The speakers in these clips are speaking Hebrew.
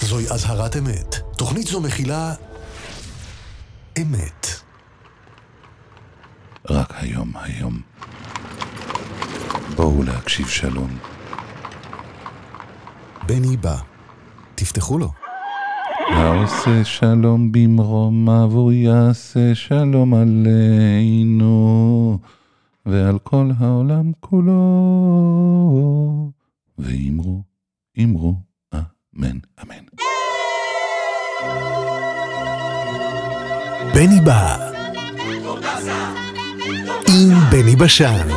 זוהי אזהרת אמת. תוכנית זו מכילה אמת. רק היום. בואו להקשיב שלום. בני בא. תפתחו לו. העושה שלום במרום אבו יעשה שלום עלינו ועל כל העולם כולו. ואמרו אמן. בני בא. עם בני בשן.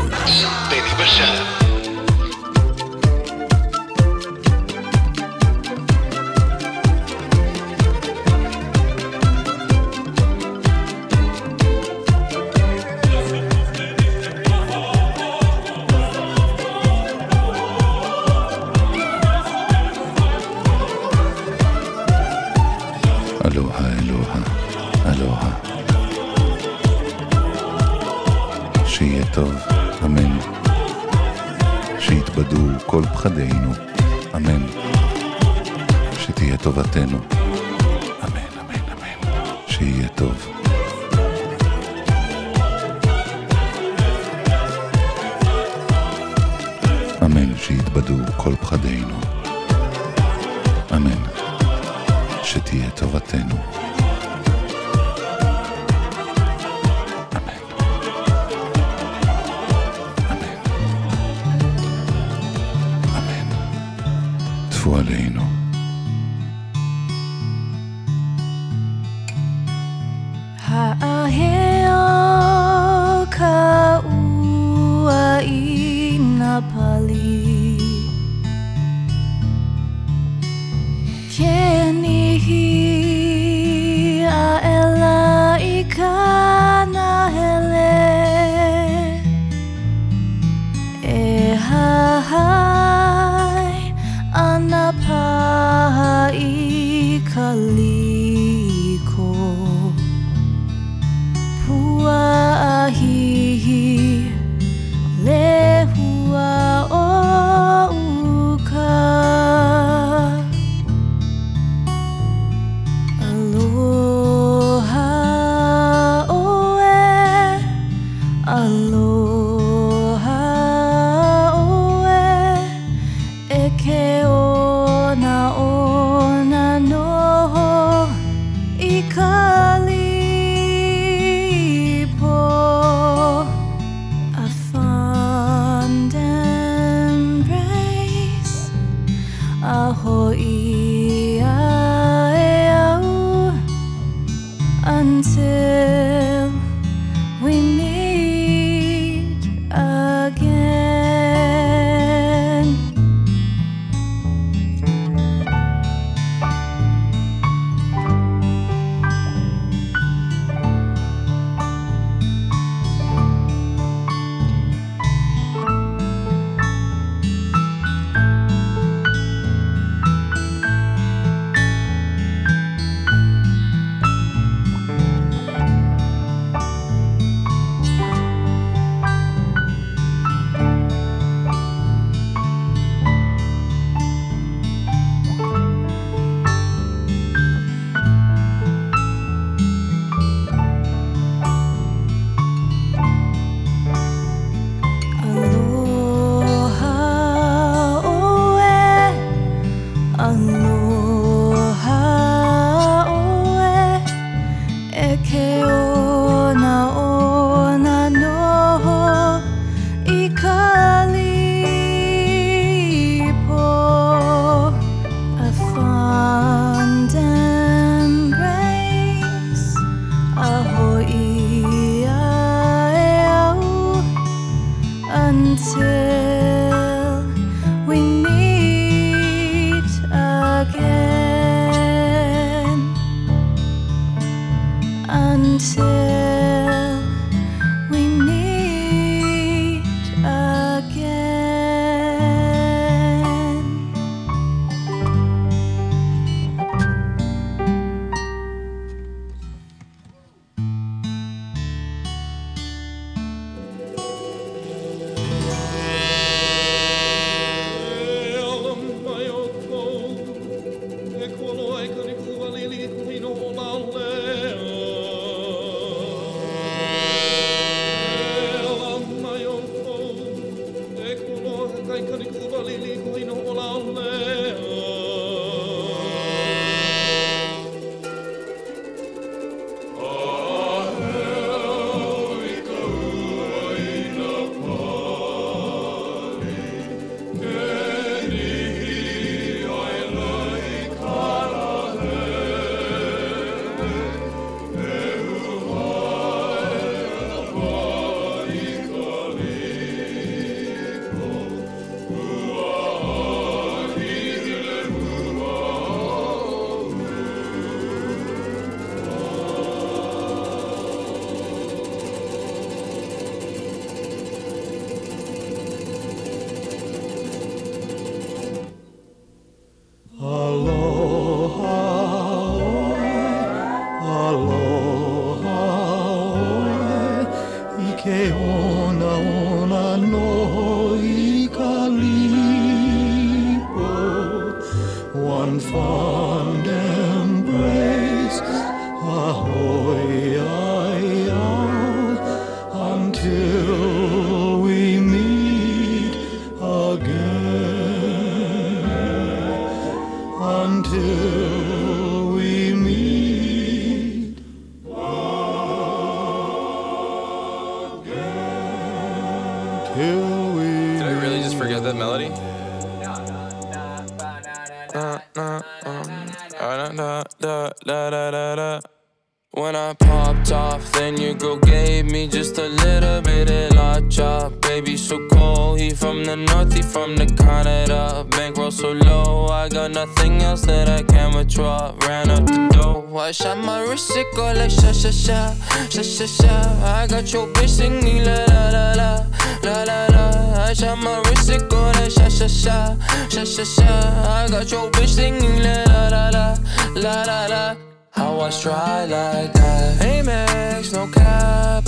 אלוהה. שיהיה טוב, אמן. שיתבדו כל פחדינו, אמן. שתהיה טובתנו, אמן. שיהיה טוב. אמן. שיתבדו כל פחדינו, אמן. שתהיה טובתנו. טפו עלינו. האהר קעוע אינפלי כניהי האלאי כנהלה Anapai kaliko puahi lehua ouka aloha oe aloha oe eke ona noho ikalipo a fond embrace ahoi aeau until we meet again. Until we meet again. Until we meet again. Equal ona ona no ikalipo. One fond embrace, ahoy, until we meet again. Until we meet again. Till we Did I really just forget that melody? When I popped off, then your girl gave me just a little bit of la chop. Baby so cold, he from the north, he from the Canada. Bankroll so low, I got nothing else that I can withdraw. Ran up the dough, I shot my wrist, it go like sha sha sha, sha sha sha. I got your bitch singing la la la la, la la la. I shot my wrist, it go like sha sha sha, sha sha sha. I got your bitch singing la la la la, la la la. How I try like that. Amex, no cap,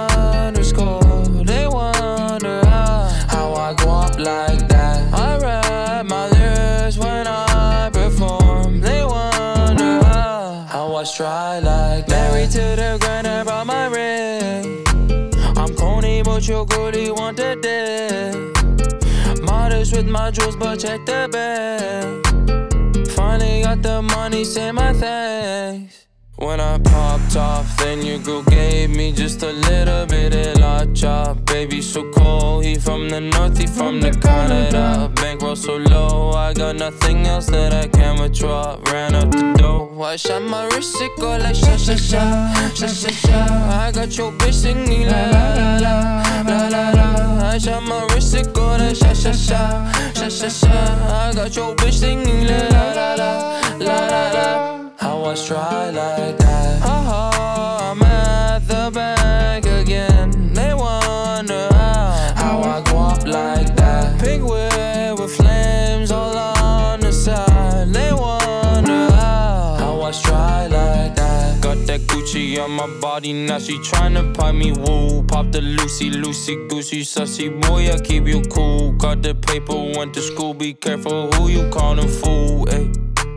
800 They wonder how I go up like that. I rap my lyrics when I perform. They wonder how I try like that. Married to the grind, I brought my ring. I'm Coney, but your girlie want the dick. Modest with my jewels, but check the bag. Finally got the money, say my thanks. When I popped off, then your girl gave me just a little bit of la chop. Baby so cold, he from the north, he from the Canada. Bankroll so low, I got nothing else that I can withdraw. Ran up the dough, I shot my wrist, it go like sha sha sha, sha sha sha. I got your bitch singing la la la la, la la la. I shot my wrist, it go like sha sha sha, sha sha sha. I got your bitch singing la la la la, la la la. How I try like that. I'm at the bank again. They wonder how I go up like that. Pink whip with flames all on the side. They wonder how I try like that. Got that Gucci on my body, now she tryna pipe me woo. Pop the Lucy, Lucy, Goosey, sussy boy, I keep you cool. Got the paper, went to school, be careful who you callin' fool, ayy.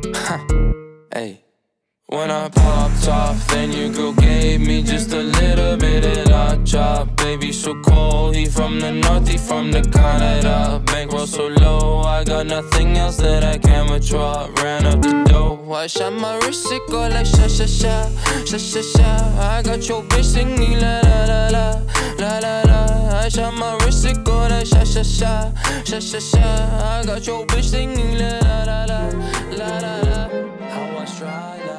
Hey. When I popped off, then your girl gave me just a little bit of la chop. Baby so cold, he from the north, he from the Canada. Bankroll so low, I got nothing else that I can withdraw. Ran up the dough, I shot my wrist, it go like sha sha sha, sha sha sha. I got your bitch singing la la la la, la la la. I shot my wrist, it go like sha sha sha, sha sha sha. I got your bitch singing la la la la, la la la. How I try like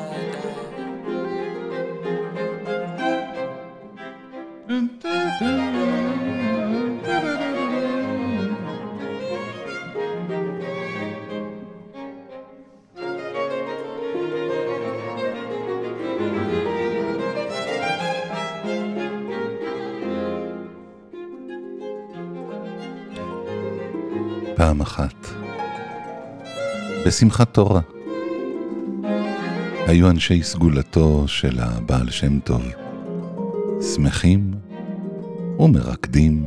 פעם אחת, בשמחת תורה, היו אנשי סגולתו של הבעל שם טוב, שמחים ומרקדים,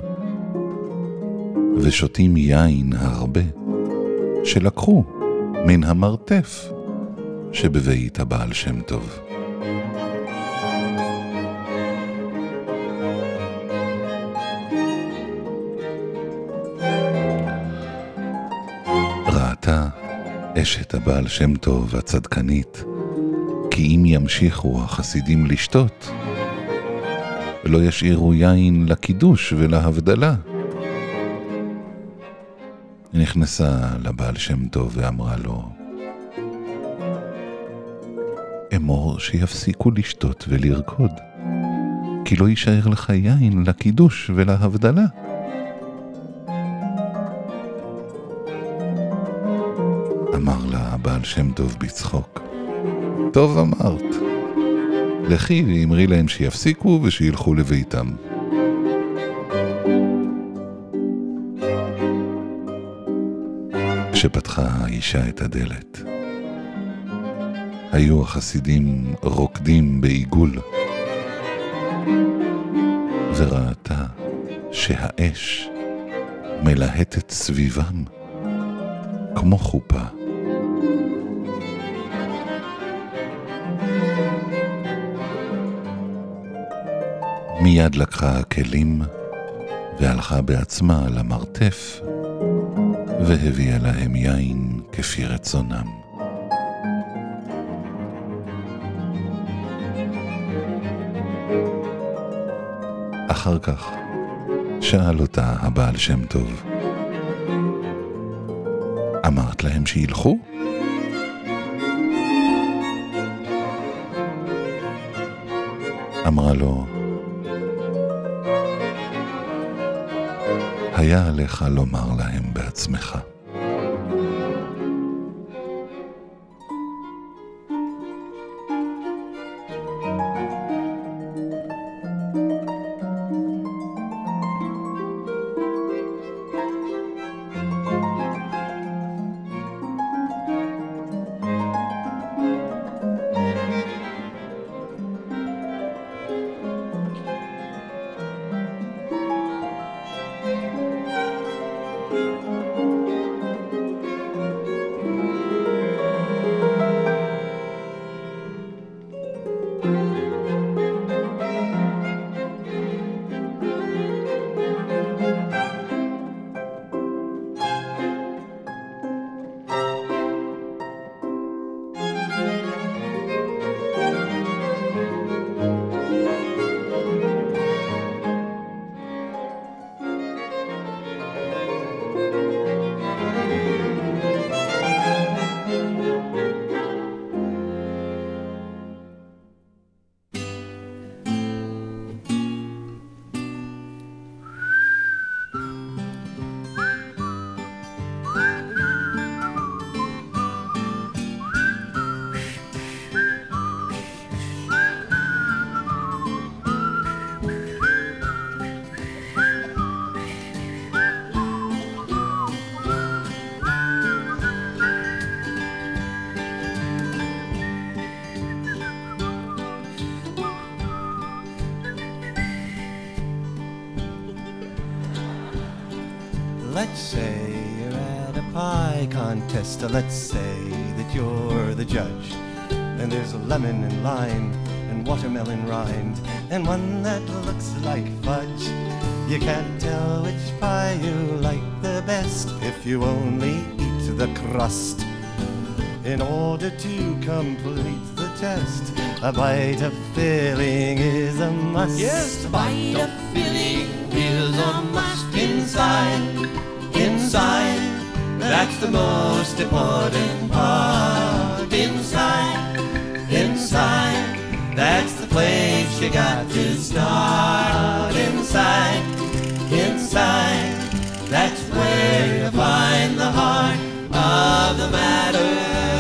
ושותים יין הרבה, שלקחו מן המרתף שבבית הבעל שם טוב. ראתה אשת הבעל שם טוב הצדקנית, כי אם ימשיכו החסידים לשתות, לא ישאירו יין לקידוש ולהבדלה. נכנסה לבעל שם טוב ואמרה לו, אמור שיפסיקו לשתות ולרקוד, כי לא יישאר לך יין לקידוש ולהבדלה. אמר לה הבעל שם טוב בצחוק, טוב אמרת, לכי ואמרי להם שיפסיקו ושילכו לביתם. כשפתחה האישה את הדלת, היו החסידים רוקדים בעיגול, וראתה שהאש מלהטת סביבם כמו חופה. מיד לקחה הכלים והלכה בעצמה למרתף והביאה להם יין כפי רצונם. אחר כך שאל אותה הבעל שם טוב, אמרת להם שילכו? אמרה לו, היה עליך לומר להם בעצמך. Let's say you're at a pie contest. Let's say that you're the judge. And there's a lemon and lime and watermelon rind and one that looks like fudge. You can't tell which pie you like the best if you only eat the crust. In order to complete the test, a bite of filling is a must. Yes, a bite of filling is a must. Inside, that's the most important part. Inside, that's the place you got to start. Inside, that's where you find the heart of the matter.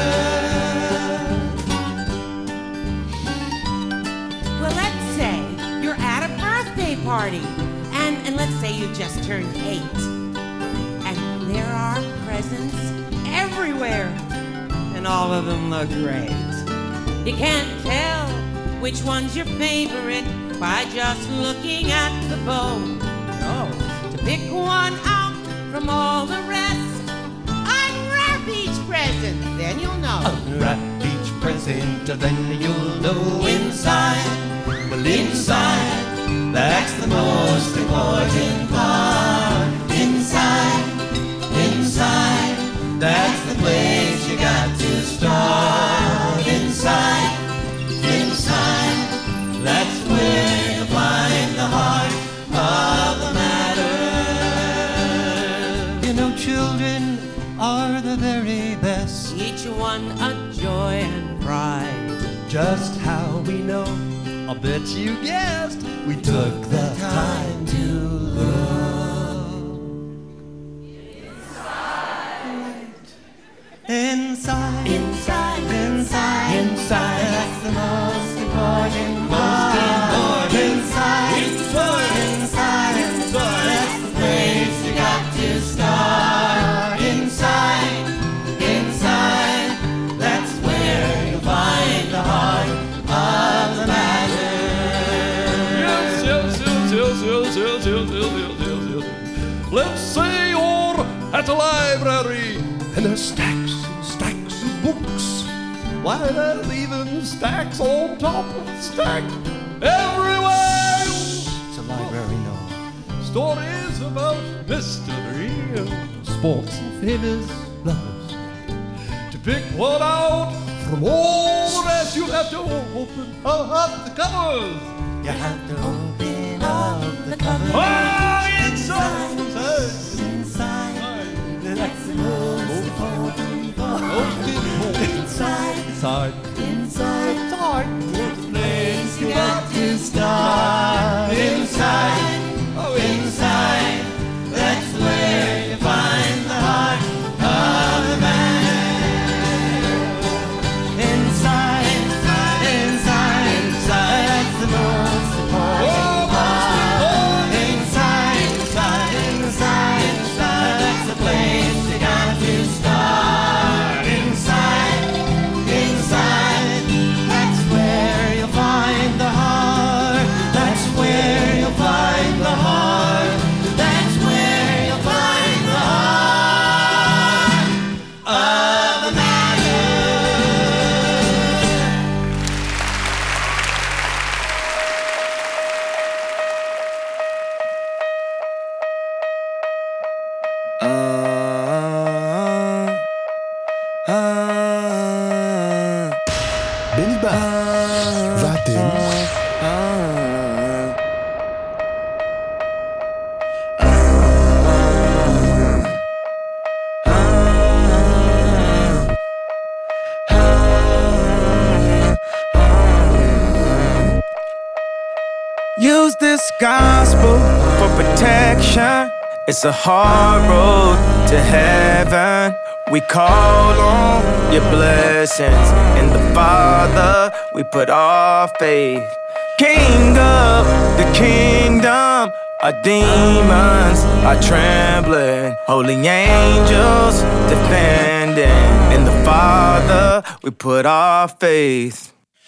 Well, let's say you're at a birthday party, and let's say you just turned 8. There are presents everywhere, and all of them look great. You can't tell which one's your favorite by just looking at the bow. No, to pick one out from all the rest, unwrap each present, then you'll know. Unwrap each present, then you'll know. Inside, that's the most important part. Inside, that's the place you got to start. Inside, that's where you find the heart of the matter. You know, children are the very best. Each one a joy and pride. Just how we know, I'll bet you guessed, we took the time to look. Inside, that's the most important part. Inside, that's the place you got to start. Inside, that's where you find the heart of the matter. a library, and there's stacks and stacks of books. Why, there's even stacks on top of stacks everywhere. It's a library, no. Stories about mystery, sports and famous lovers. To pick one out from all the rest, you have to open up the covers. You have to open up the covers. Oh, inside, that's the most important part. Inside, the place you got to start. Inside, inside, that's where you find the heart of the man. Inside, that's the most important part. Inside, that's the place you got to start. Inside, that's where you'll find the heart. That's where you'll find the heart. That's where you'll find the heart of the matter. בני בא. ואתם? Use this gospel for protection. It's a hard road to heaven. We call on your blessings. In the Father, we put our faith. King of the kingdom, our demons are trembling. Holy angels defending. In the Father, we put our faith.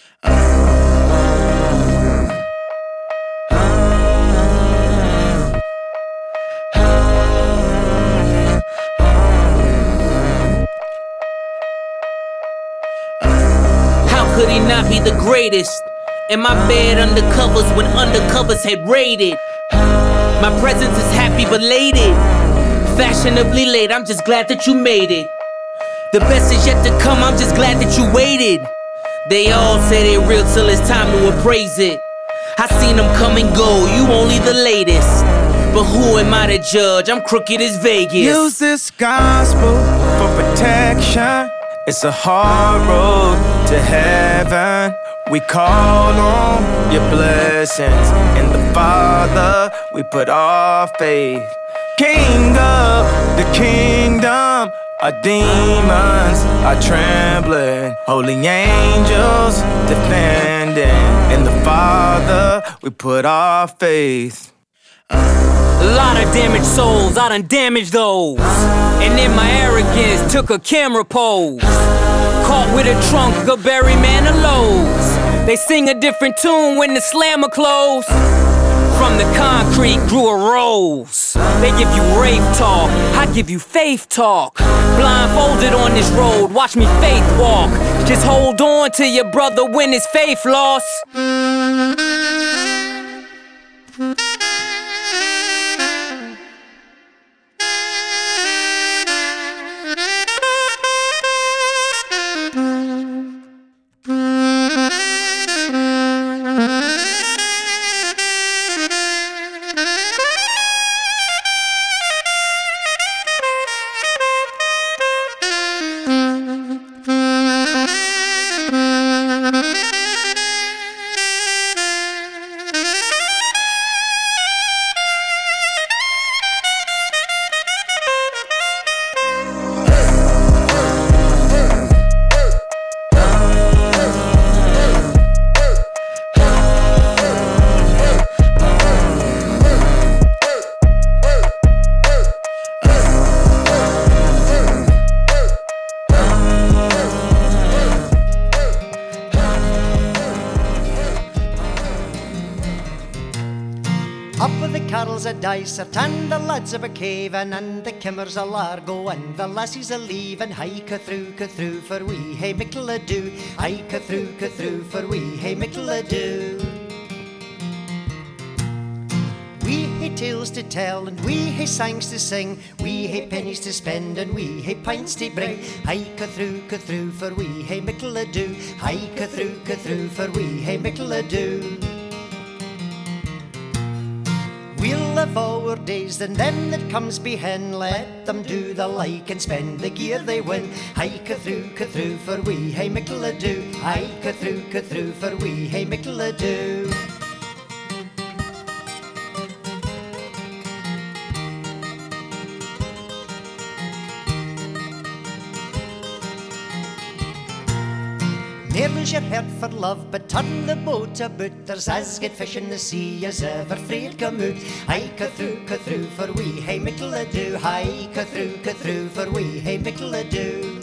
Could he not be the greatest? In my bed undercovers when undercovers had raided. My presence is happy belated. Fashionably late, I'm just glad that you made it. The best is yet to come, I'm just glad that you waited. They all say they real till it's time to appraise it. I seen them come and go, you only the latest. But who am I to judge? I'm crooked as Vegas. Use this gospel for protection. It's a hard road to heaven. We call on your blessings. In the Father, we put our faith. King of the kingdom, our demons are trembling. Holy angels defending. In the Father, we put our faith. A lot of damaged souls, I done damaged those. And in my arrogance, took a camera pose. Caught with a trunk of Barry Manilow's. They sing a different tune when the slammer close. From the concrete grew a rose. They give you rave talk, I give you faith talk. Blindfolded on this road, watch me faith walk. Just hold on to your brother when his faith lost. carols a dice, and the lads a caving, and the kimmers a largo, and the lassies a leaving. Hi, Cathru, for we, hey, mickle ado. Hi, Cathru, for we, hey, mickle ado. We hae tales to tell, and we hae songs to sing. We hae pennies to spend, and we hae pints to bring. Hi, Cathru, for we, hey, mickle ado. Hi, Cathru, for we, hey, mickle ado. We'll live our days, and them that comes behind, let them do the like and spend the gear they win. Hi, Cathru, for we, hey, mickle ado. Hi, Cathru, for we, hey, mickle ado. Nearly's your heart for love, but turn the boat about. There's as good fish in the sea as ever fraid come out. Hi, Cathru, for we, hey, mickle ado. Hi, Cathru, for we, hey, mickle ado.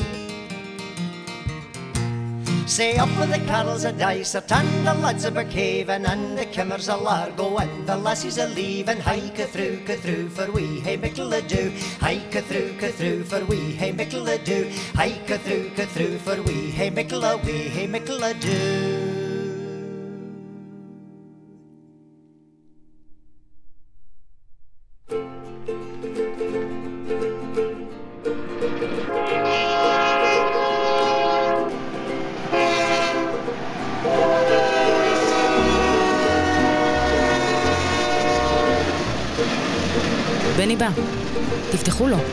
Say up with the carols a dice, and the lads a caving, and the kimmers a largo, and the lassies a leaving. Hi, Cathru, for we, hey, mickle ado. Hi, Cathru, for we, hey, mickle ado. Hi, Cathru, for we, hey, mickle away, hey, mickle ado. בני בא, תפתחו לו.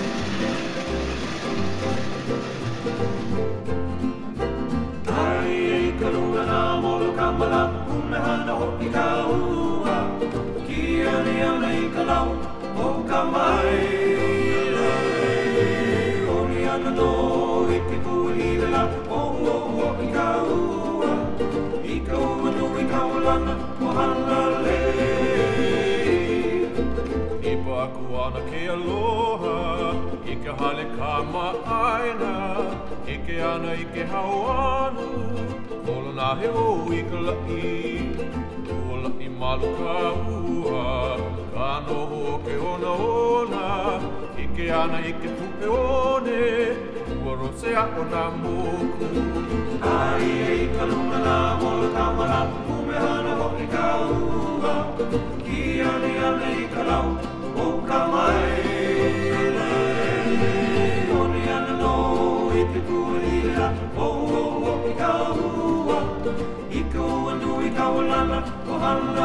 Kuana ke aloha, ike hale ka ma'aina, ike ana ike hauanu, kola na he o ike la'i, kola I malu ka ua, ka noho ke ona ona, ike ana ike pupe one, ua rose a o na moku. Ai e ka lunga na mola ka mala, ume hana ho I ka ua, ki ane ane I ka lau, o ka mai Oni ana no I te kuahira O I ka ua I ka ua nui ka walana O hana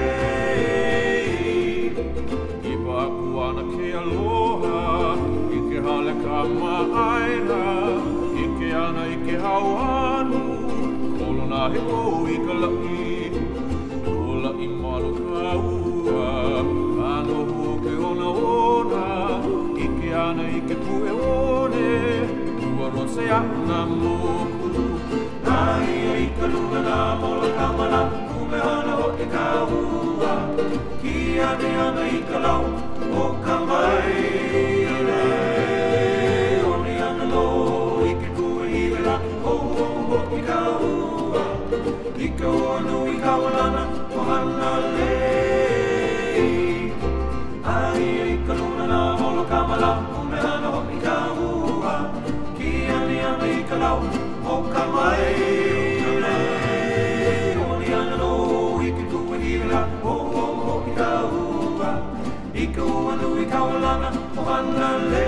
lei I paku ana ke aloha I ke hale ka ma'aina I ke ana I ke hauanu Kolo na he o I ka la'i Ola I malu ka ua Ano ke ona ona, ike ana ike pue one, ua rose a na moku. Ai e ka lunga na mola ka mana, ume hana ho te ka ua, ki ane ana I ka lau, o ka mai re. Oni ana no ike kue hira, o I ka ua, ike o nui ka walana, o hana lei. Ai e ka luna na molo ka mala, ume hana ho I ka ua, ki ane ana I ka lau, o ka mai re. Oni ana no I ke kua hira, o I ka ua, I ka ua nui ka walana, o hana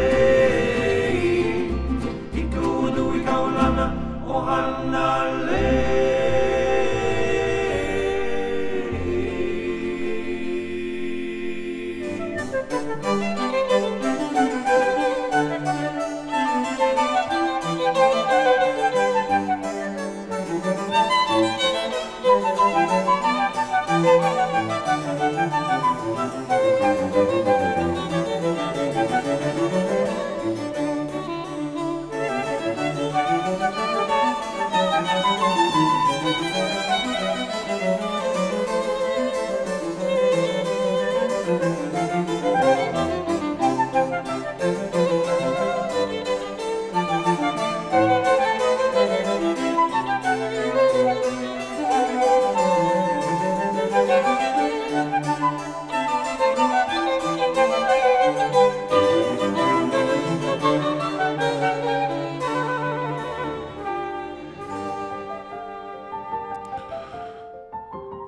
lei. I ka ua nui ka walana, o hana lei.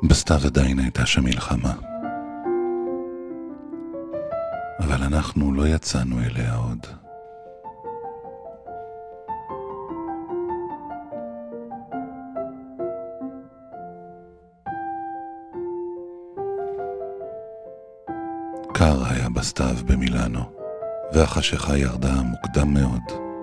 בסתיו עדיין הייתה שם מלחמה. אבל אנחנו לא יצאנו אליה עוד. קר היה בסתיו במילאנו, והחשיכה ירדה מוקדם מאוד.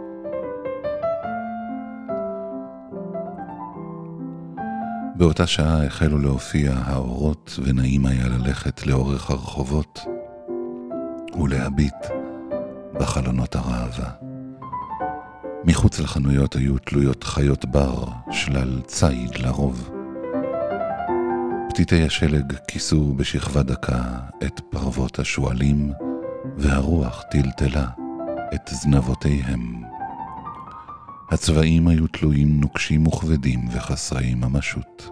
באותה שעה החלו להופיע האורות, ונעים היה ללכת לאורך הרחובות ולהביט בחלונות הראווה. מחוץ לחנויות היו תלויות חיות בר, שלל ציד לרוב. פתיתי השלג כיסו בשכבה דקה את פרוות השואלים, והרוח טלטלה את זנבותיהם. הצבעים היו תלויים נוקשים וכבדים וחסרי ממשות.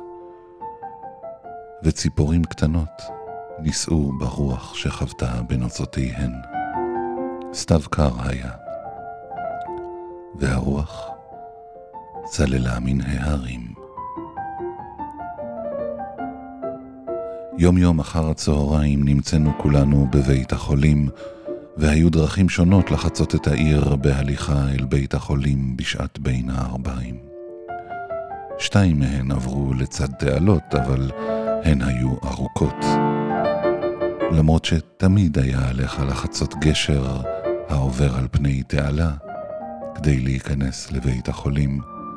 וציפורים קטנות ניסעו ברוח שחוותה בנוצותיהן. סתיו קר היה, והרוח צללה מן ההרים. יום יום אחר הצהריים נמצאנו כולנו בבית החולים, והיו דרכים שונות לחצות את העיר בהליכה אל בית החולים בשעת בין הערביים. 2 מהן עברו לצד תעלות, אבל הן היו ארוכות. למרות שתמיד היה עליך לחצות גשר העובר על פני תעלה כדי להיכנס לבית החולים.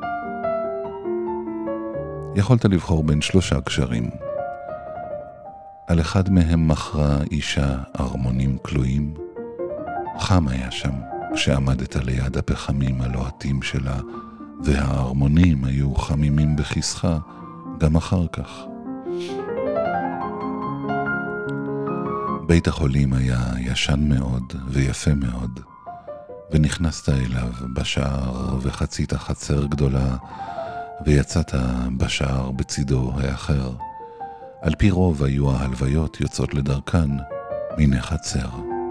יכולת לבחור בין 3 גשרים. על אחד מהם מכרה אישה ארמונים כלואים. חם היה שם כשעמדת ליד הפחמים הלוהטים שלה, והארמונים היו חמימים בכיסך גם אחר כך. בית החולים היה ישן מאוד ויפה מאוד, ונכנסת אליו בשער וחצית חצר גדולה, ויצאת בשער בצידו האחר. על פי רוב היו ההלוויות יוצאות לדרכן מן החצר.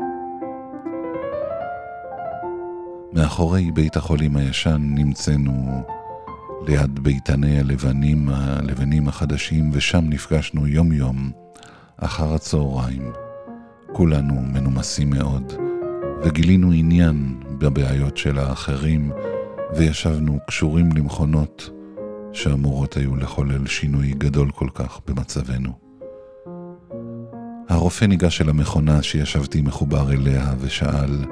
מאחורי בית החולים הישן נמצאנו ליד ביתני הלבנים החדשים, ושם נפגשנו יום יום אחר הצהריים. כולנו מנומסים מאוד, וגילינו עניין בבעיות של האחרים, וישבנו קשורים למכונות שאמורות היו לחולל שינוי גדול כל כך במצבנו. הרופא ניגש אל המכונה שישבתי מחובר אליה ושאל,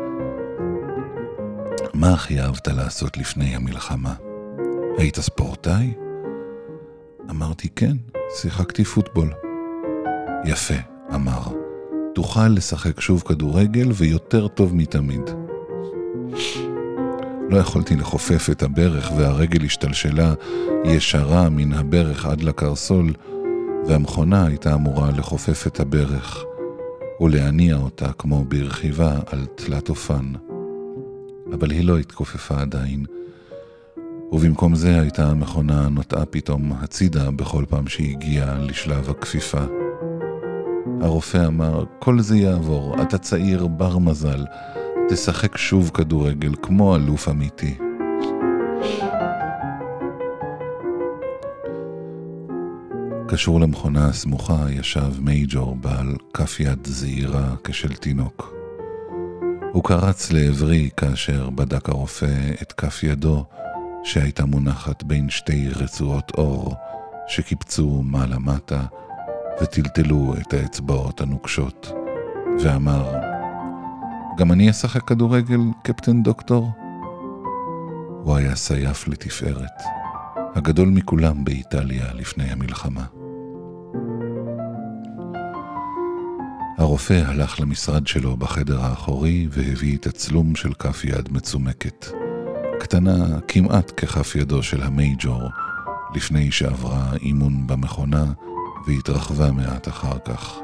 מה הכי אהבת לעשות לפני המלחמה? היית ספורטאי? אמרתי כן, שיחקתי פוטבול. יפה, אמר, תוכל לשחק שוב כדורגל ויותר טוב מתמיד. לא יכולתי לחופף את הברך, והרגל השתלשלה ישרה מן הברך עד לקרסול, והמכונה הייתה אמורה לחופף את הברך ולהניע אותה כמו ברכיבה על תלת אופן. אבל היא לא התכופפה עדיין, ובמקום זה הייתה המכונה נוטעה פתאום הצידה בכל פעם שהגיעה לשלב הכפיפה. הרופא אמר, כל זה יעבור, אתה צעיר בר מזל, תשחק שוב כדורגל כמו אלוף אמיתי. קשור למכונה הסמוכה ישב מייג'ור בעל כף יד זעירה כשל תינוק. הוא קרץ לעברי כאשר בדק הרופא את כף ידו שהייתה מונחת בין 2 רצועות אור שקיפצו מעלה מטה וטלטלו את האצבעות הנוקשות, ואמר, גם אני אשחק כדורגל, קפטן דוקטור? הוא היה סייף לתפארת, הגדול מכולם באיטליה לפני המלחמה. הרופא הלך למשרד שלו בחדר האחורי והביא תצלום של כף יד מצומקת, קטנה כמעט ככף ידו של המייג'ור, לפני שעברה אימון במכונה והתרחבה מעט אחר כך.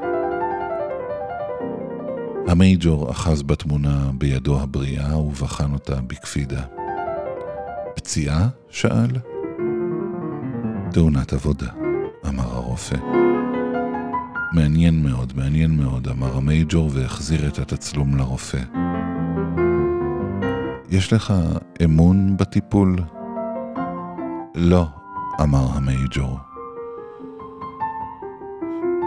המייג'ור אחז בתמונה בידו הבריאה ובחן אותה בקפידה. פציעה? שאל. תאונת עבודה, אמר הרופא. מעניין מאוד, אמר המייג'ור והחזיר את התצלום לרופא. יש לך אמון בטיפול? לא, אמר המייג'ור.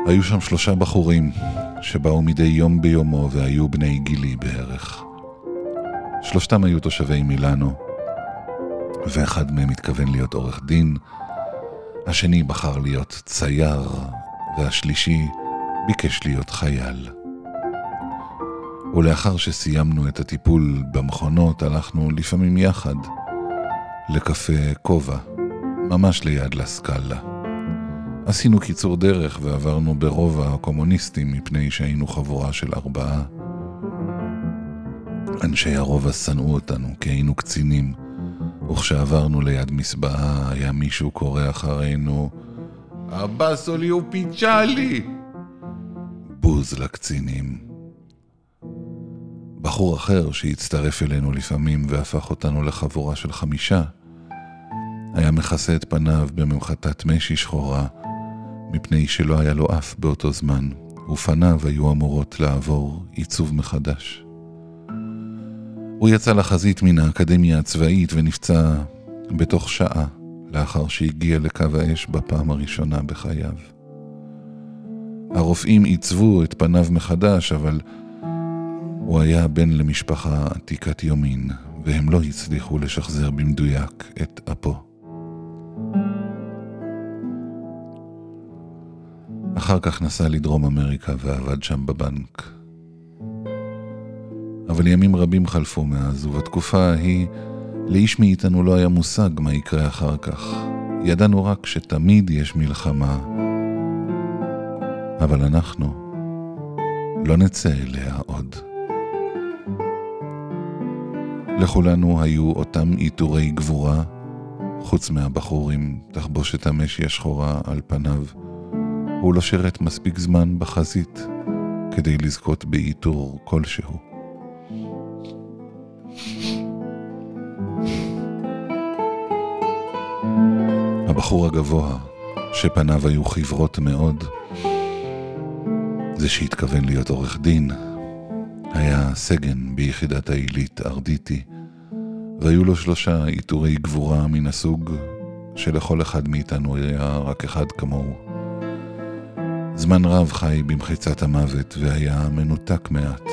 היו שם 3 בחורים שבאו מדי יום ביומו והיו בני גילי בערך. 3 היו תושבי מילאנו, ואחד מהם התכוון להיות עורך דין, השני בחר להיות צייר, והשלישי ביקש להיות חייל. ולאחר שסיימנו את הטיפול במכונות, הלכנו לפעמים יחד לקפה כובע, ממש ליד לסקאלה. עשינו קיצור דרך ועברנו ברובע הקומוניסטים מפני שהיינו חבורה של 4. אנשי הרובע שנאו אותנו כי היינו קצינים, וכשעברנו ליד מסבעה היה מישהו קורא אחרינו, אבאסולי ופיצ'לי! בוז לקצינים. בחור אחר שהצטרף אלינו לפעמים והפך אותנו לחבורה של 5, היה מכסה את פניו בממחטת משי שחורה, מפני שלא היה לו אף באותו זמן, ופניו היו אמורות לעבור עיצוב מחדש. הוא יצא לחזית מן האקדמיה הצבאית ונפצע בתוך שעה, לאחר שהגיע לקו האש בפעם הראשונה בחייו. הרופאים עיצבו את פניו מחדש, אבל הוא היה בן למשפחה עתיקת יומין, והם לא הצליחו לשחזר במדויק את אפו. אחר כך נסע לדרום אמריקה ועבד שם בבנק. אבל ימים רבים חלפו מאז, ובתקופה ההיא לאיש מאיתנו לא היה מושג מה יקרה אחר כך. ידענו רק שתמיד יש מלחמה, אבל אנחנו לא נצא אליה עוד. לכולנו היו אותם עיטורי גבורה, חוץ מהבחור עם תחבושת המשי השחורה על פניו. הוא לא שירת מספיק זמן בחזית כדי לזכות בעיטור כלשהו. הבחור הגבוה, שפניו היו חברות מאוד, זה שהתכוון להיות עורך דין, היה סגן ביחידת העילית ארדיטי, והיו לו 3 עיטורי גבורה מן הסוג שלכל אחד מאיתנו היה רק אחד כמוהו. זמן רב חי במחיצת המוות והיה מנותק מעט.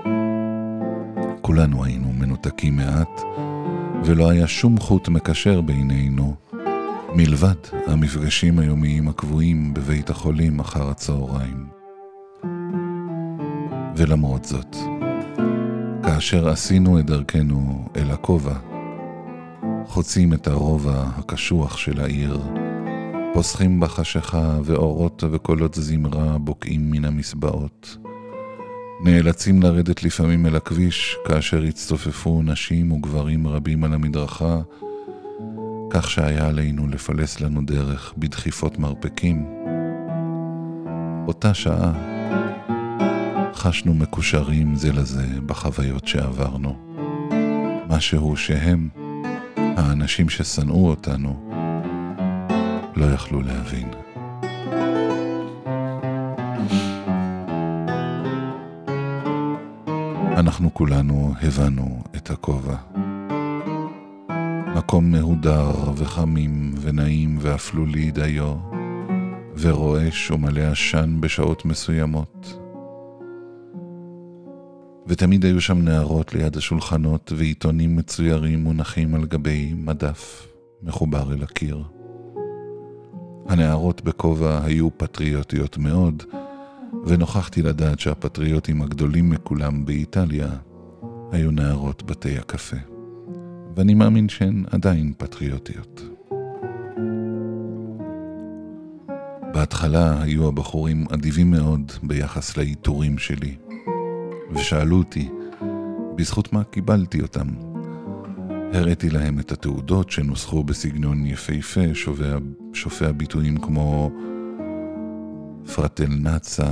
כולנו היינו מנותקים מעט, ולא היה שום חוט מקשר בינינו, מלבד המפגשים היומיים הקבועים בבית החולים אחר הצהריים. ולמרות זאת, כאשר עשינו את דרכנו אל הכובע, חוצים את הרובע הקשוח של העיר, פוסחים בחשיכה ואורות וקולות זמרה בוקעים מן המסבעות. נאלצים לרדת לפעמים אל הכביש כאשר הצטופפו נשים וגברים רבים על המדרכה, כך שהיה עלינו לפלס לנו דרך בדחיפות מרפקים. אותה שעה חשנו מקושרים זה לזה בחוויות שעברנו. משהו שהם, האנשים ששנאו אותנו, לא יכלו להבין. אנחנו כולנו הבנו את הכובע. מקום מהודר וחמים ונעים ואפלולי דיו, ורועש ומלא עשן בשעות מסוימות. ותמיד היו שם נערות ליד השולחנות ועיתונים מצוירים מונחים על גבי מדף מחובר אל הקיר. הנערות בכובע היו פטריוטיות מאוד, ונוכחתי לדעת שהפטריוטים הגדולים מכולם באיטליה היו נערות בתי הקפה. ואני מאמין שהן עדיין פטריוטיות. בהתחלה היו הבחורים אדיבים מאוד ביחס לעיטורים שלי, ושאלו אותי בזכות מה קיבלתי אותם. הראיתי להם את התעודות שנוסחו בסגנון יפהפה, שופע ביטויים כמו פרטלנצה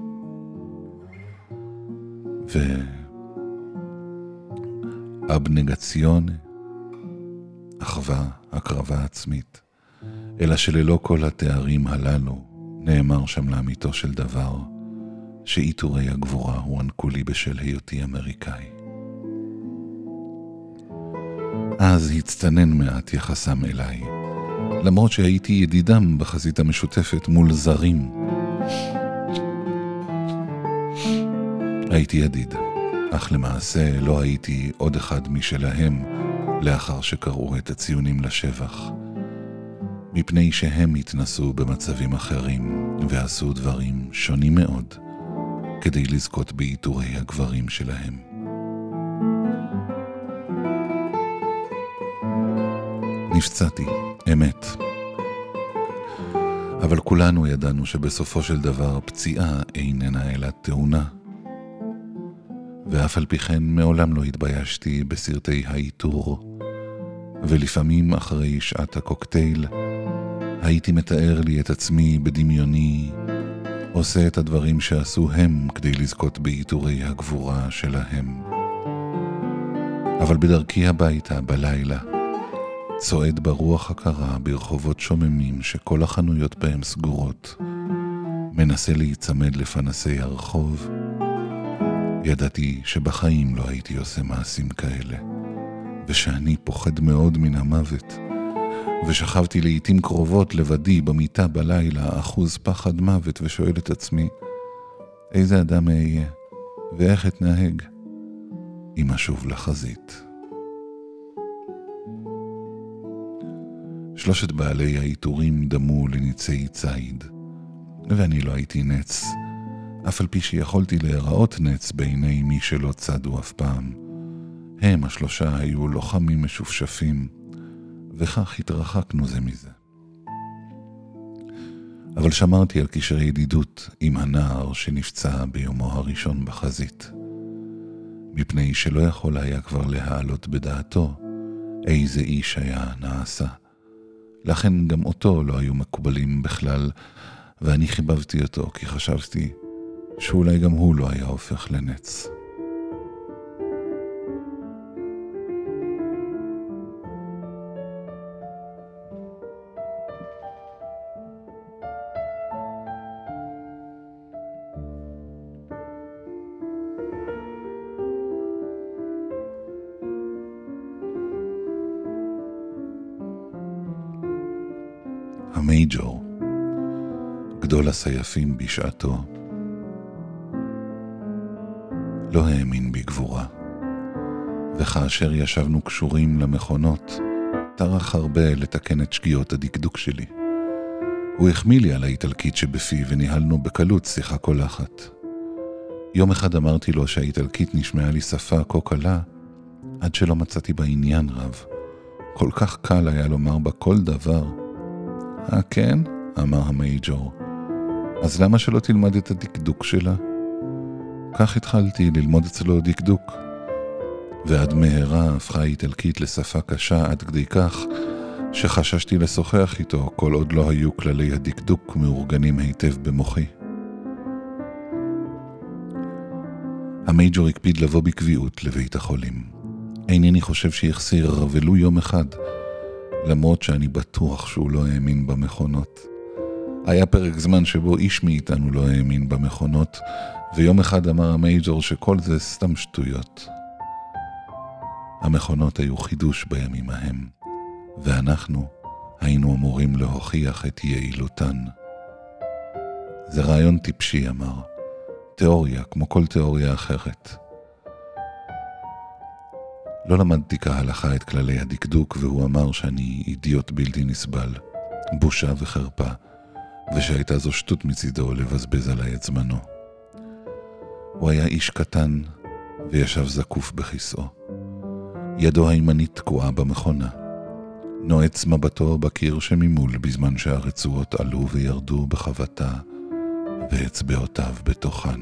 ואבנגציונה, אחווה, הקרבה עצמית. אלא שללא כל התארים הללו נאמר שם לאמיתו של דבר שעיטורי הגבורה הוענקו לי בשל היותי אמריקאי. אז הצטנן מעט יחסם אליי, למרות שהייתי ידידם בחזית המשותפת מול זרים. הייתי ידיד, אך למעשה לא הייתי עוד אחד משלהם לאחר שקראו את הציונים לשבח. מפני שהם התנסו במצבים אחרים ועשו דברים שונים מאוד כדי לזכות בעיטורי הגברים שלהם. נפצעתי, אמת. אבל כולנו ידענו שבסופו של דבר פציעה איננה אלא תאונה. ואף על פי כן מעולם לא התביישתי בסרטי העיטור, ולפעמים אחרי שעת הקוקטייל הייתי מתאר לי את עצמי בדמיוני עושה את הדברים שעשו הם כדי לזכות בעיטורי הגבורה שלהם. אבל בדרכי הביתה בלילה צועד ברוח הקרה ברחובות שוממים שכל החנויות בהם סגורות, מנסה להיצמד לפנסי הרחוב. ידעתי שבחיים לא הייתי עושה מעשים כאלה, ושאני פוחד מאוד מן המוות, ושכבתי לעתים קרובות לבדי במיטה בלילה אחוז פחד מוות ושואל את עצמי, איזה אדם אהיה ואיך אתנהג אם אשוב לחזית. שלושת בעלי העיטורים דמו לניצי ציד, ואני לא הייתי נץ, אף על פי שיכולתי להיראות נץ בעיני מי שלא צדו אף פעם. הם השלושה היו לוחמים משופשפים, וכך התרחקנו זה מזה. אבל שמרתי על קשרי ידידות עם הנער שנפצע ביומו הראשון בחזית, מפני שלא יכול היה כבר להעלות בדעתו איזה איש היה נעשה. לכן גם אותו לא היו מקובלים בכלל, ואני חיבבתי אותו כי חשבתי שאולי גם הוא לא היה הופך לנץ. המייג'ור, גדול הסייפים בשעתו, לא האמין בגבורה, וכאשר ישבנו קשורים למכונות, טרח הרבה לתקן את שגיאות הדקדוק שלי. הוא החמיא לי על האיטלקית שבפי וניהלנו בקלות שיחה קולחת. יום אחד אמרתי לו שהאיטלקית נשמעה לי שפה כה קלה, עד שלא מצאתי בה עניין רב. כל כך קל היה לומר בה כל דבר. כן? אמר המייג'ור. אז למה שלא תלמד את הדקדוק שלה? כך התחלתי ללמוד אצלו דקדוק, ועד מהרה הפכה האיטלקית לשפה קשה עד כדי כך שחששתי לשוחח איתו כל עוד לא היו כללי הדקדוק מאורגנים היטב במוחי. המייג'ור הקפיד לבוא בקביעות לבית החולים. אינני חושב שיחסיר ולו יום אחד, למרות שאני בטוח שהוא לא האמין במכונות. היה פרק זמן שבו איש מאיתנו לא האמין במכונות, ויום אחד אמר המייג'ור שכל זה סתם שטויות. המכונות היו חידוש בימים ההם, ואנחנו היינו אמורים להוכיח את יעילותן. זה רעיון טיפשי, אמר. תיאוריה, כמו כל תיאוריה אחרת. לא למדתי כהלכה את כללי הדקדוק, והוא אמר שאני אידיוט בלתי נסבל, בושה וחרפה, ושהייתה זו שטות מצידו לבזבז עליי את זמנו. הוא היה איש קטן וישב זקוף בכיסאו. ידו הימנית תקועה במכונה. נועץ מבטו בקיר שממול בזמן שהרצועות עלו וירדו בחבטה ואצבעותיו בתוכן.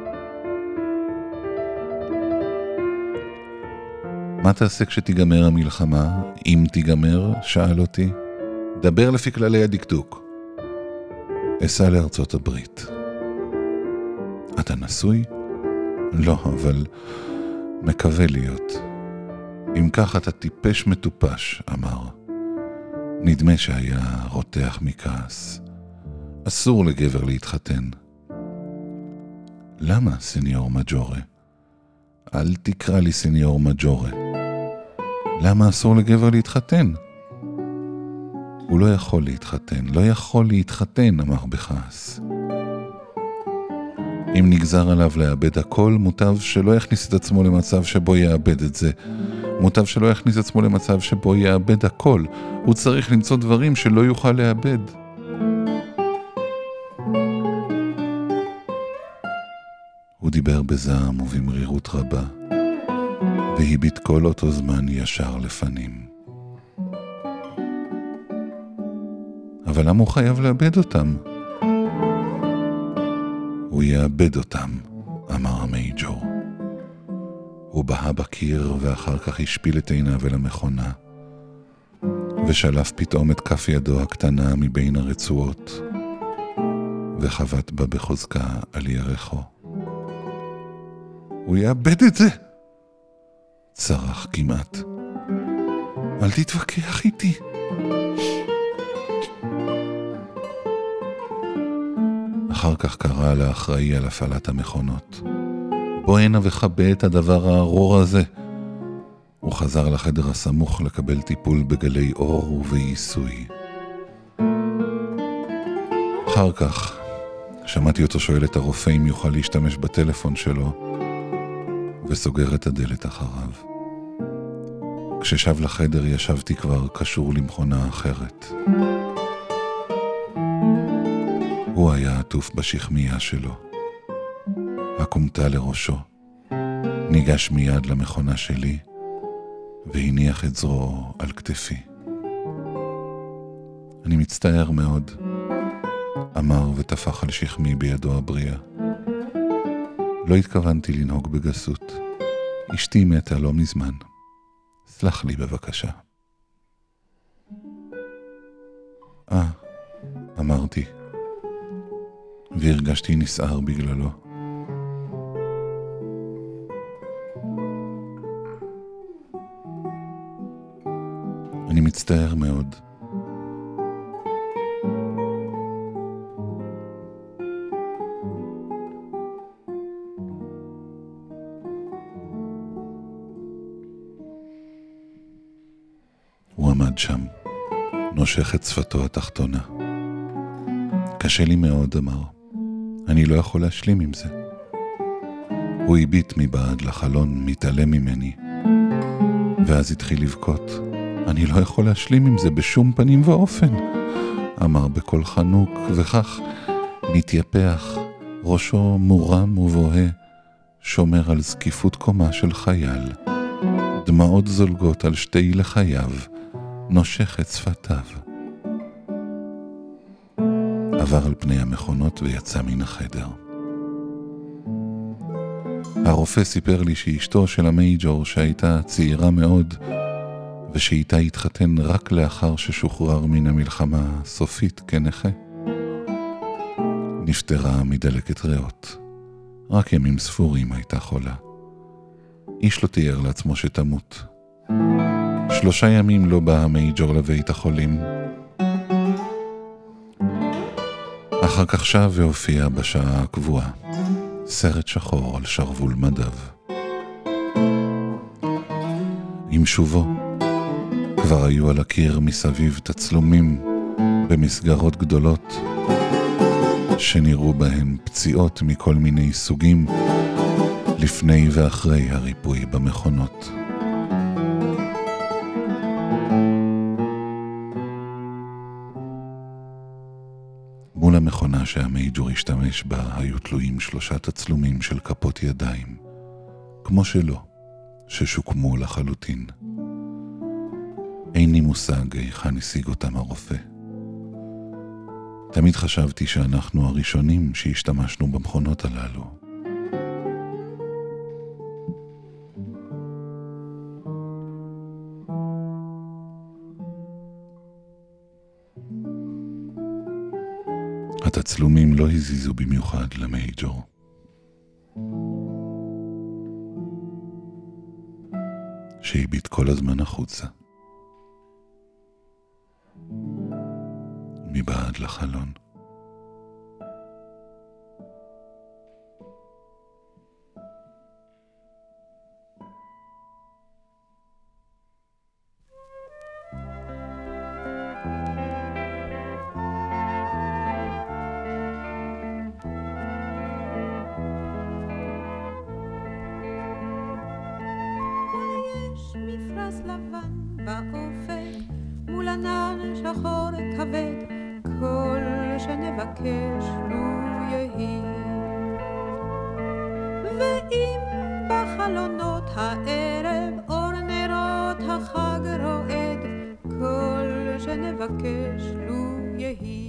מה תעשה כשתיגמר המלחמה? אם תיגמר, שאל אותי. דבר לפי כללי הדקדוק. אסע לארצות הברית. אתה נשוי? לא, אבל מקווה להיות. אם כך אתה טיפש מטופש, אמר. נדמה שהיה רותח מכעס. אסור לגבר להתחתן. למה, סניור מג'ורה? אל תקרא לי סניור מג'ורה. למה אסור לגבר להתחתן? הוא לא יכול להתחתן, לא יכול להתחתן, אמר בכעס. אם נגזר עליו לאבד הכל, מוטב שלא יכניס את עצמו למצב שבו יאבד את זה. מוטב שלא יכניס את עצמו למצב שבו יאבד הכל. הוא צריך למצוא דברים שלא יוכל לאבד. הוא דיבר בזעם ובמרירות רבה, והביט כל אותו זמן ישר לפנים. אבל למה הוא חייב לאבד אותם? הוא יאבד אותם, אמר המייג'ור. הוא בהה בקיר ואחר כך השפיל את עיניו אל המכונה, ושלף פתאום את כף ידו הקטנה מבין הרצועות, וחבט בה בחוזקה על ירחו. הוא יאבד את זה! צרח כמעט. אל תתווכח איתי. אחר כך קרא לאחראי על הפעלת המכונות. בוא הנה וחבא את הדבר הארור הזה. הוא חזר לחדר הסמוך לקבל טיפול בגלי אור ובעיסוי. אחר כך שמעתי אותו שואל את הרופא אם יוכל להשתמש בטלפון שלו, וסוגר את הדלת אחריו. כששב לחדר ישבתי כבר קשור למכונה אחרת. הוא היה עטוף בשכמיה שלו. הקומתה לראשו. ניגש מיד למכונה שלי, והניח את זרועו על כתפי. אני מצטער מאוד, אמר ותפח על שכמי בידו הבריאה. לא התכוונתי לנהוג בגסות. אשתי מתה לא מזמן. סלח לי בבקשה. אמרתי, והרגשתי נסער בגללו. אני מצטער מאוד. הוא עמד שם, נושך את שפתו התחתונה. קשה לי מאוד, אמר. אני לא יכול להשלים עם זה. הוא הביט מבעד לחלון, מתעלם ממני, ואז התחיל לבכות. אני לא יכול להשלים עם זה בשום פנים ואופן, אמר בקול חנוק, וכך מתייפח, ראשו מורם ובוהה, שומר על זקיפות קומה של חייל. דמעות זולגות על שתי לחייו, נושך את שפתיו. עבר על פני המכונות ויצא מן החדר. הרופא סיפר לי שאשתו של המייג'ור, שהייתה צעירה מאוד, ושאיתה התחתן רק לאחר ששוחרר מן המלחמה סופית כנכה, נפטרה מדלקת ריאות. רק ימים ספורים הייתה חולה. איש לא תיאר לעצמו שתמות. 3 ימים לא בא המייג'ור לבית החולים. אחר כך שב והופיע בשעה הקבועה, סרט שחור על שרוול מדיו. עם שובו כבר היו על הקיר מסביב תצלומים במסגרות גדולות שנראו בהם פציעות מכל מיני סוגים לפני ואחרי הריפוי במכונות. מול המכונה שהמייג'ור השתמש בה היו תלויים 3 תצלומים של כפות ידיים, כמו שלו, ששוקמו לחלוטין. אין לי מושג היכן השיג אותם הרופא. תמיד חשבתי שאנחנו הראשונים שהשתמשנו במכונות הללו. התצלומים לא הזיזו במיוחד למייג'ור. שהביט כל הזמן החוצה. מבעד לחלון. שנבקש לו יהי. ואם בחלונות הערב אור נרות החג רועד, כל שנבקש לו יהי.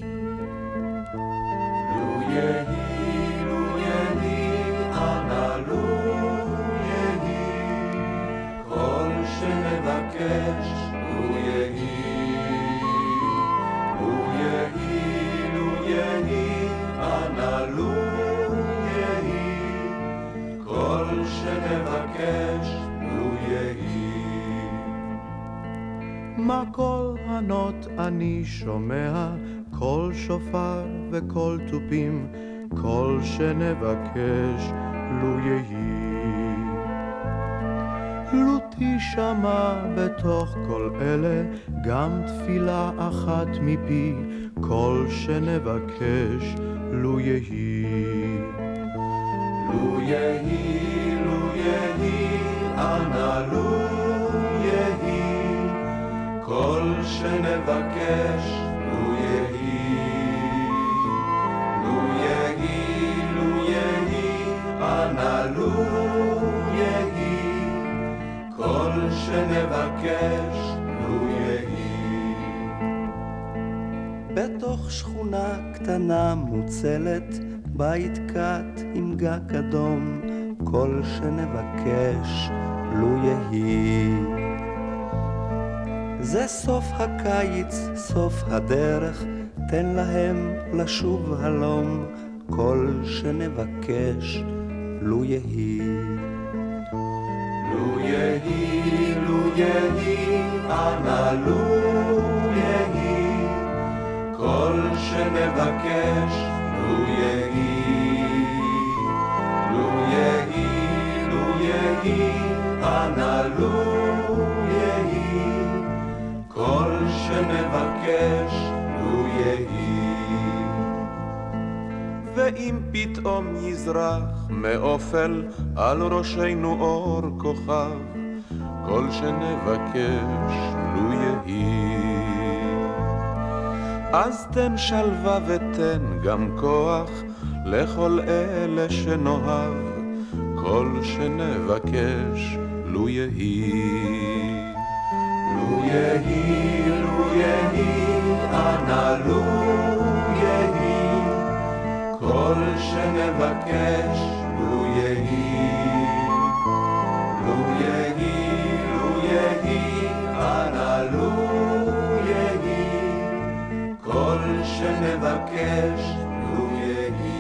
לו יהי, לו יהי, אנא לו יהי, כל שנבקש לו יהי. לו יהי, לו יהי, אנא לו יהי, כל שנבקש לו יהי. מה כל ענות אני שומע, קול שופר וקול תופים, כל שנבקש לו יהי. לו תשמע בתוך כל אלה גם תפילה אחת מפי, כל שנבקש לו יהי. לו יהי, לו יהי, אנא לו יהי, כל שנבקש לו יהי. לו יהי, לו יהי, אנא לו יהי, כל שנבקש לו יהי. בתוך שכונה קטנה מוצלת, בית קט עם גג אדום, כל שנבקש לו יהי. זה סוף הקיץ, סוף הדרך, תן להם לשוב הלום, כל שנבקש לו יהי. לו יהי, לו יהי, אנא לו יהי, כל שנבקש לו יהי. לו יהי, לו יהי, אנא לו יהי, כל שנבקש לו יהי. ואם פתאום יזרח מאופל על ראשנו אור כוכב, כל שנבקש לו יהי. אז תן שלווה ותן גם כוח לכל אלה שנאהב, כל שנבקש לו יהי. לו יהי, לו יהי, אנא לו יהי, כל שנבקש לו יהי. לו יהי, לו יהי, אנא לו יהי, כל שנבקש לו יהי.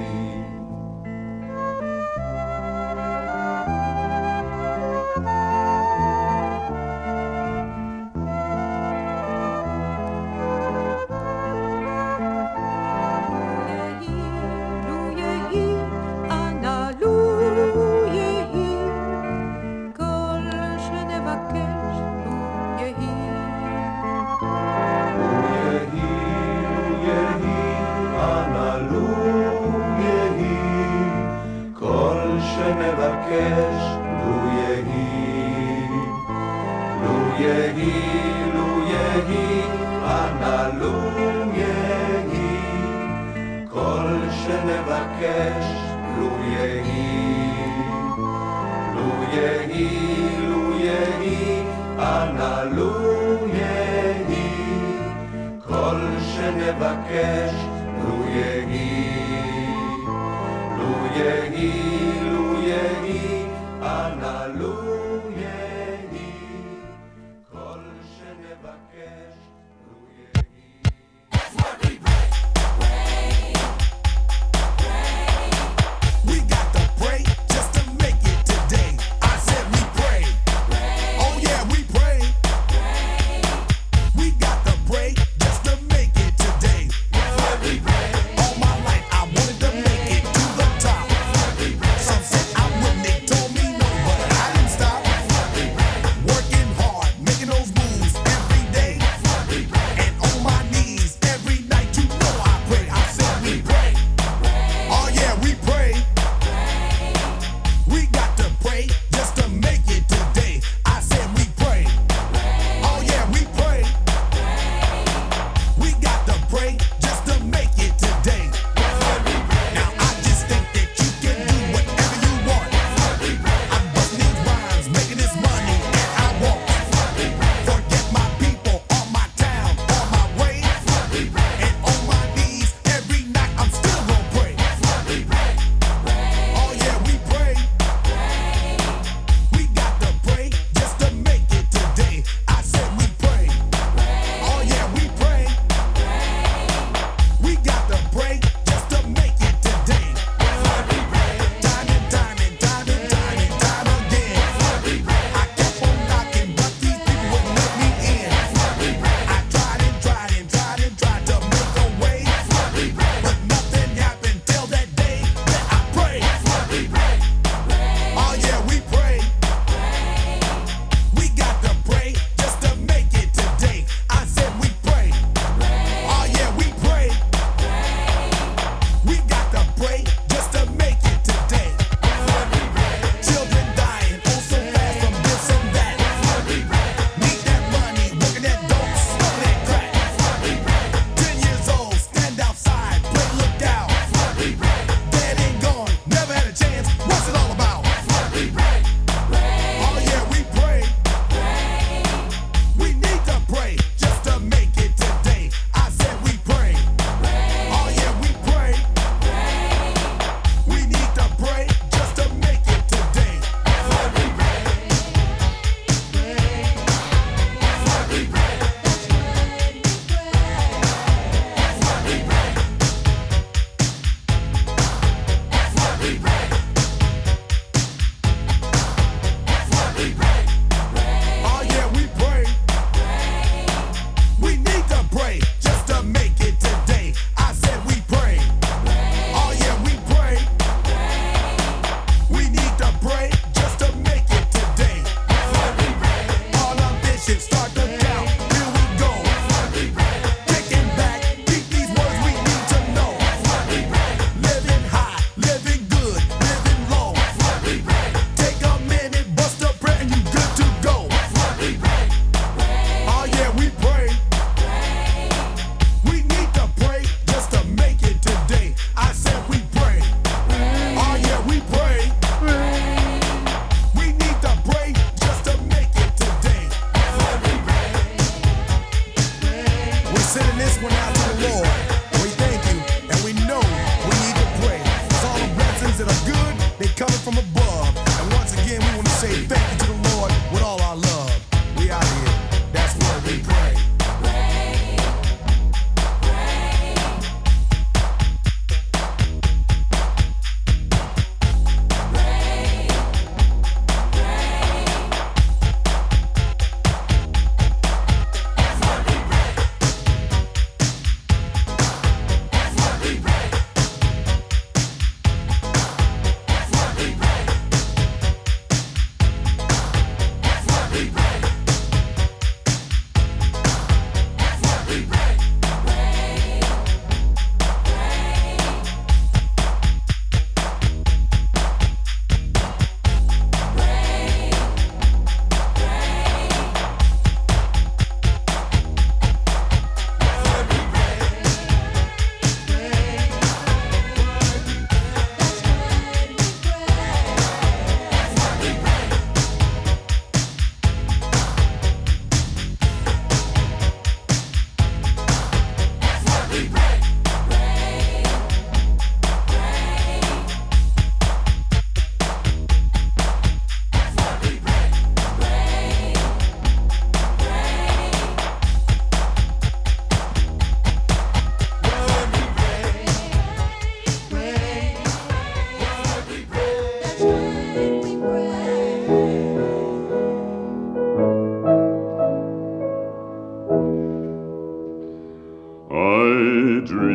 שנבקש לו יהי. לו יהי, לו יהי, אנא לו יהי, כל שנבקש לו יהי. לו יהי, לו יהי, אנא לו יהי, כל שנבקש לו יהי. לו יהי, לו יהי, אנא לו יהי, כל שנבקש לו יהי. That's what we pray. Pray, pray. We got to pray just to make it today. I said we pray. Pray. Oh yeah, we pray. Pray. We got to pray just to make it today. That's what we pray. All my life I wanted to make it to the top. Some say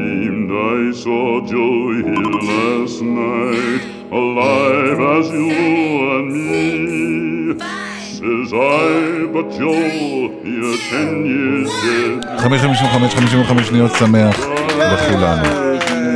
dreamed I saw Joe here last night, alive as you and me. Says I, but Joe, you're 10 years dead. 55 שניות שמח לכולנו.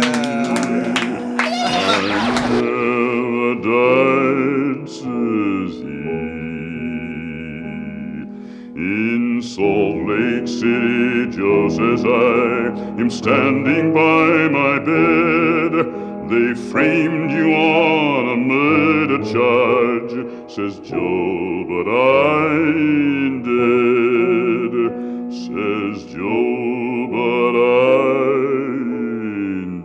In Salt Lake City, Joe says I am standing by my bed. They framed you on a murder charge, says Joe, but I ain't dead. Says Joe, but I ain't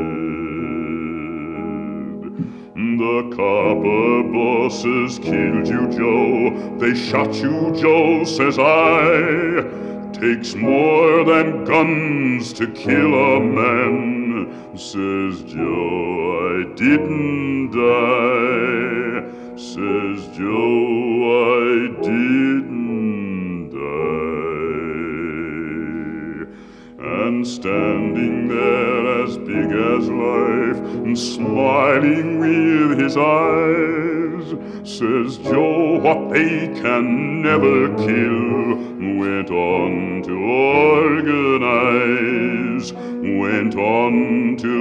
dead. The copper bosses killed you, Joe. They shot you, Joe, says I. Takes more than guns to kill a man, says Joe. I didn't die, says Joe. I didn't die. And standing there as big as life, and smiling with his eyes, says Joe, what they can never kill, went on to organize, went on to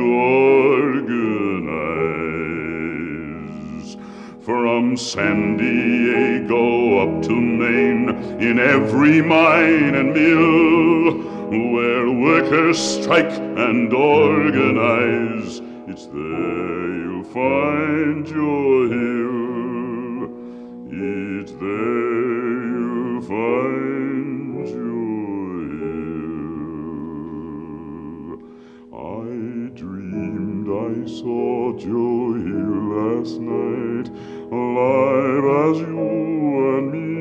organize. From San Diego up to Maine, in every mine and mill, where workers strike and organize, it's there you'll find your hill. It's there you'll find your hill. I dreamed I saw Joe here last night, alive as you and me.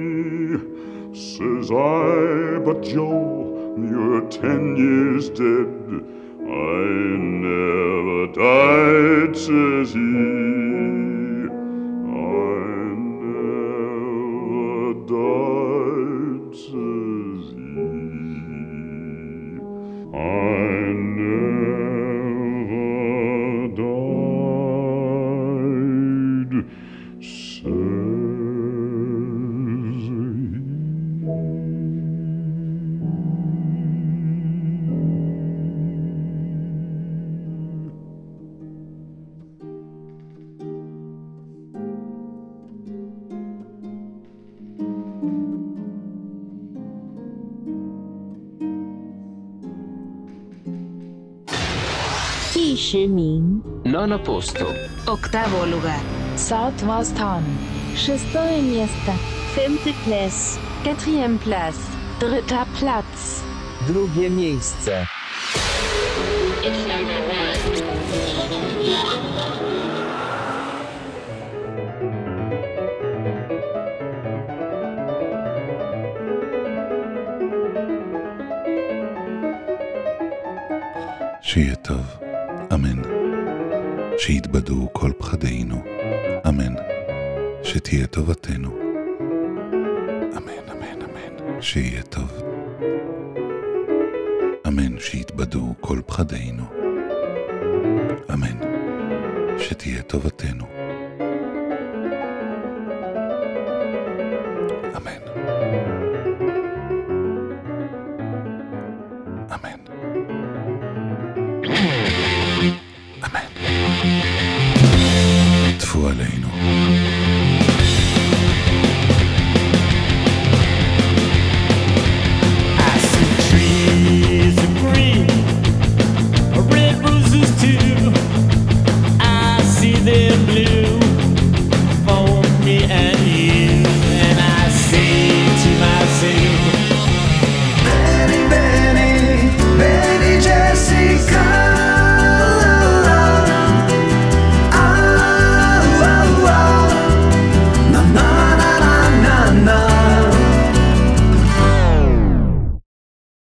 Says I, but Joe, you're 10 years dead. I never died, says he. I never died, says he. I never died, says he. Nono posto. Oktavo lugar. Southwestern. Шестое место. Femte place. Quatrième place. Dritter Platz. Drugie miejsce. It's number 1. שיהיה טוב. אמן. שיתבדו כל פחדינו. אמן. שתהיה טובתנו. אמן, אמן, אמן. שיהיה טוב. אמן. שיתבדו כל פחדינו. אמן. שתהיה טובתנו. אמן. אמן. אמן. טפו עלינו.